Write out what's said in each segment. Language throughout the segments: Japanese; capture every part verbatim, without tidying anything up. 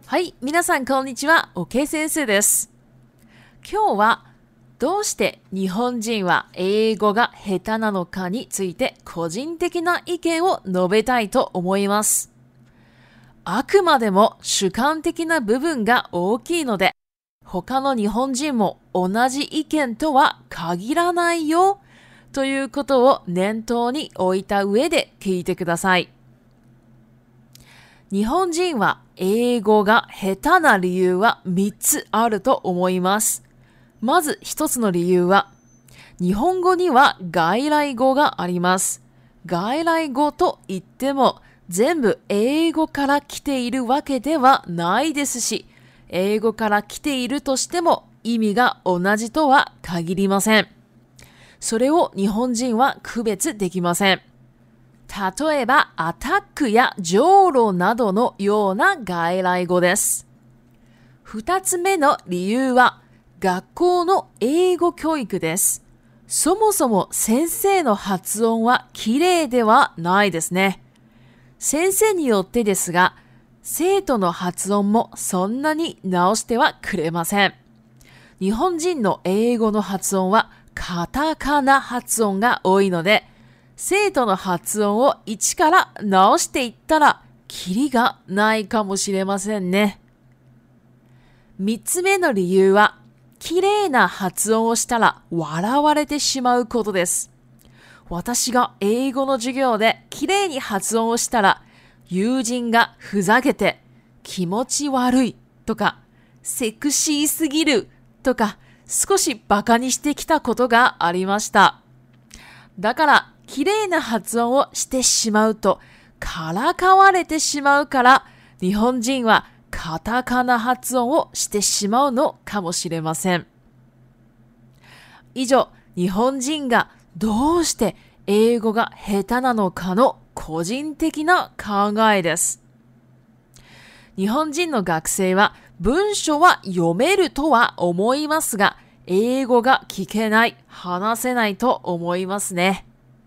はい、皆さんこんにちは、OK 先生です。今日はどうして日本人は英語が下手なのかについて個人的な意見を述べたいと思います。あくまでも主観的な部分が大きいので、他の日本人も同じ意見とは限らないよということを念頭に置いた上で聞いてください。日本人は英語が下手な理由はみっつあると思います。まずひとつの理由は、日本語には外来語があります。外来語といっても全部英語から来ているわけではないですし、英語から来ているとしても意味が同じとは限りません。それを日本人は区別できません。例えば、アタックやジョーロなどのような外来語です。二つ目の理由は、学校の英語教育です。そもそも先生の発音は綺麗ではないですね。先生によってですが、生徒の発音もそんなに直してはくれません。日本人の英語の発音はカタカナ発音が多いので、生徒の発音を一から直していったらキリがないかもしれませんね。三つ目の理由は、綺麗な発音をしたら笑われてしまうことです。私が英語の授業で綺麗に発音をしたら、友人がふざけて気持ち悪いとかセクシーすぎるとか少しバカにしてきたことがありました。だから綺麗な発音をしてしまうとからかわれてしまうから、日本人はカタカナ発音をしてしまうのかもしれません。以上、日本人がどうして英語が下手なのかの個人的な考えです。日本人の学生は文章は読めるとは思いますが、英語が聞けない、話せないと思いますね。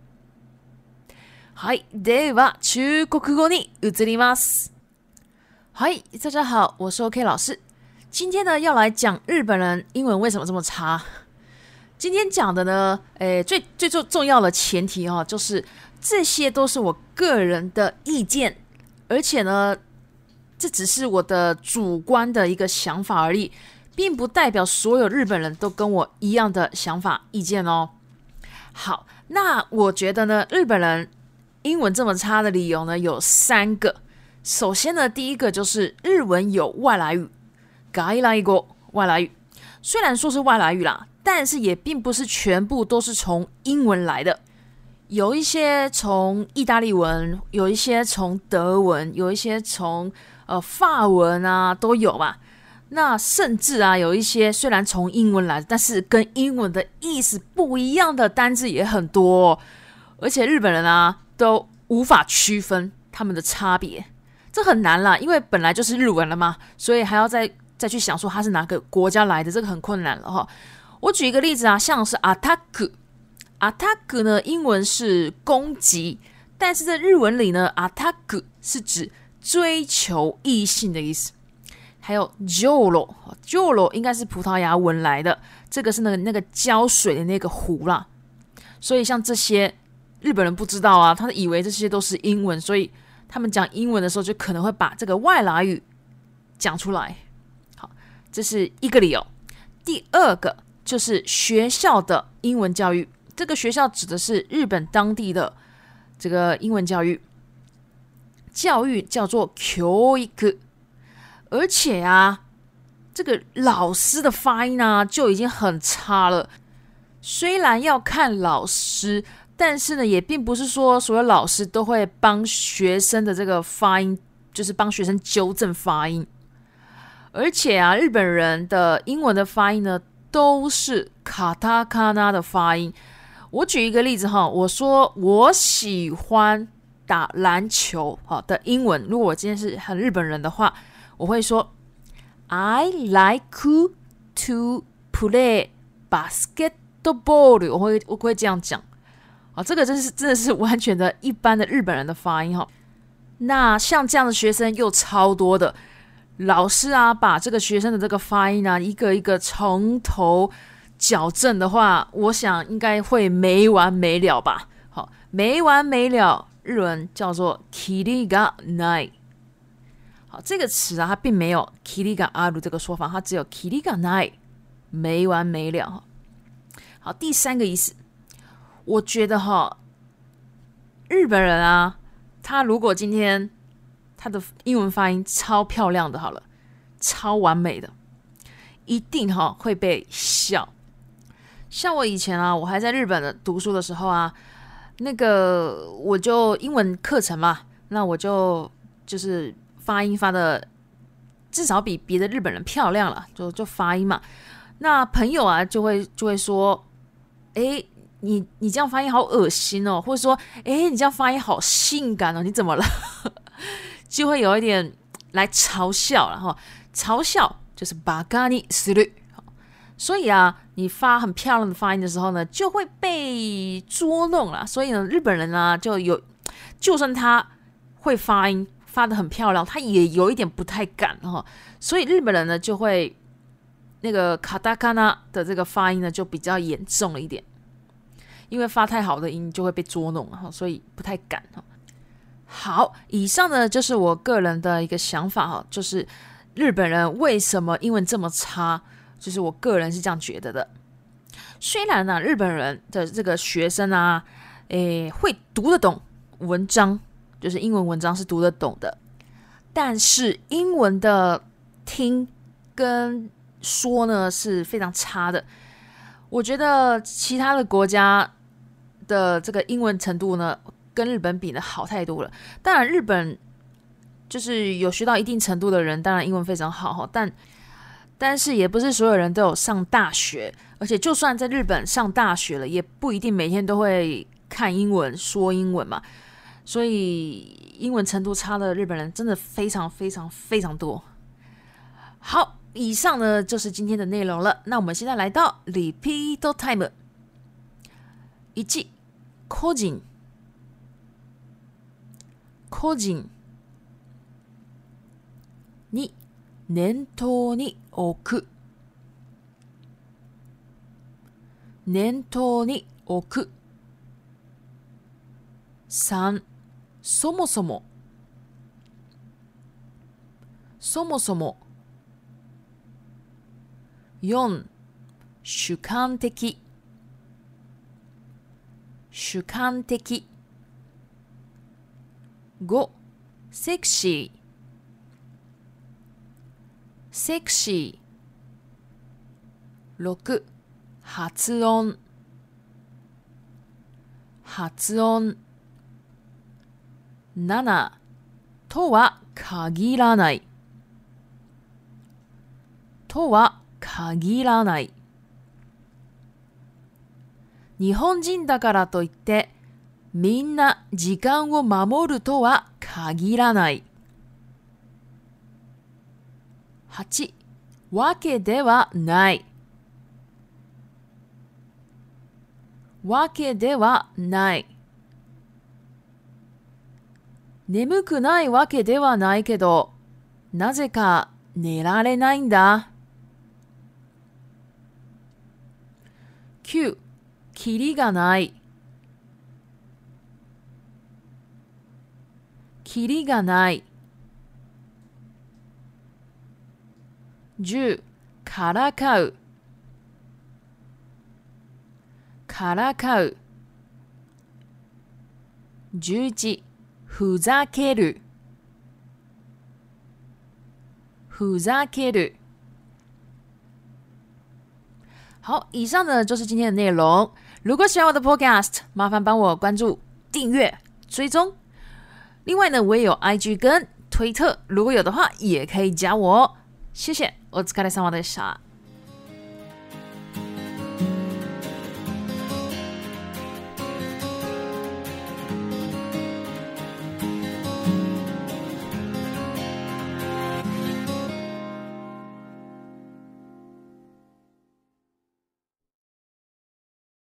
はい、では中国語に移ります。嗨，大家好，我是 OK 老师。今天呢，要来讲日本人英文为什么这么差。今天讲的呢，诶，最最重重要的前提哈、哦，就是这些都是我个人的意见，而且呢，这只是我的主观的一个想法而已，并不代表所有日本人都跟我一样的想法意见哦。好，那我觉得呢，日本人英文这么差的理由呢，有三个。首先呢，第一个就是日文有外来语，外来語外来语。虽然说是外来语啦，但是也并不是全部都是从英文来的。有一些从意大利文，有一些从德文，有一些从呃法文啊都有吧。那甚至啊，有一些虽然从英文来的，但是跟英文的意思不一样的单字也很多哦。而且日本人啊都无法区分他们的差别。这很难啦，因为本来就是日文了嘛，所以还要再再去想说它是哪个国家来的，这个很困难了哈。我举一个例子啊，像是 attack，attack 呢，英文是攻击，但是在日文里呢 ，attack 是指追求异性的意思。还有 joro，joro 应该是葡萄牙文来的，这个是那个那个浇水的那个湖啦。所以像这些日本人不知道啊，他以为这些都是英文，所以他们讲英文的时候就可能会把这个外来语讲出来。好，这是一个理由。第二个就是学校的英文教育，这个学校指的是日本当地的这个英文教育，教育叫做教育。而且啊，这个老师的发音啊就已经很差了。虽然要看老师，但是呢，也并不是说所有老师都会帮学生的这个发音，就是帮学生纠正发音。而且啊，日本人的英文的发音呢，都是カタカナ的发音。我举一个例子哈，我说我喜欢打篮球好的英文，如果我今天是很日本人的话，我会说 I like to play basketball， 我会我会这样讲。啊，这个真是真的是完全的一般的日本人的发音哈。那像这样的学生又超多的， 老师啊把这个学生的这个发音啊一个一个从头矫正的话，我想应该会没完没了吧。好，没完没了，日文叫做キリがない。好，这个词啊，它并没有キリがある这个说法，它只有キリがない，没完没了。好，第三个意思，我觉得哈，日本人啊，他如果今天他的英文发音超漂亮的，好了，超完美的，一定哈会被笑。像我以前啊，我还在日本的读书的时候啊，那个我就英文课程嘛，那我就就是发音发的至少比别的日本人漂亮了，就就发音嘛。那朋友啊就会就会说，哎，你你这样发音好恶心哦，或者说，哎，你这样发音好性感哦，你怎么了？就会有一点来嘲笑了哈，嘲笑就是バカにする。所以啊，你发很漂亮的发音的时候呢，就会被捉弄了。所以呢，日本人啊，就有，就算他会发音发得很漂亮，他也有一点不太敢哈。所以日本人呢，就会那个カタカナ的这个发音呢，就比较严重了一点，因为发太好的音就会被捉弄哈，所以不太敢哈。好，以上呢就是我个人的一个想法哈，就是日本人为什么英文这么差。就是我个人是这样觉得的。虽然呢、啊，日本人的这个学生啊，诶，会读得懂文章，就是英文文章是读得懂的，但是英文的听跟说呢是非常差的。我觉得其他的国家的这个英文程度呢，跟日本比呢好太多了。当然，日本就是有学到一定程度的人，当然英文非常好，但但是也不是所有人都有上大学，而且就算在日本上大学了，也不一定每天都会看英文、说英文嘛。所以英文程度差的日本人真的非常非常非常多。好，以上呢就是今天的内容了。那我们现在来到 Repeat Time。一、個人個人。二、念頭に置く念頭に置く。三、そもそもそもそも。四、主観的主観的。五、セクシーセクシー。六、発音発音。七、とは限らないとは限らない。日本人だからといってみんな時間を守るとは限らない。八、わけではないわけではない。眠くないわけではないけど、なぜか寝られないんだ。九、キリがないキリがない。十、からかうからかう。十一、ふざけるふざける。好，以上呢就是今天的内容。如果喜欢我的 podcast， 麻烦帮我关注、订阅、追踪。另外呢，我也有 I G 跟推特，如果有的话也可以加我哦。谢谢，お疲れ様でした。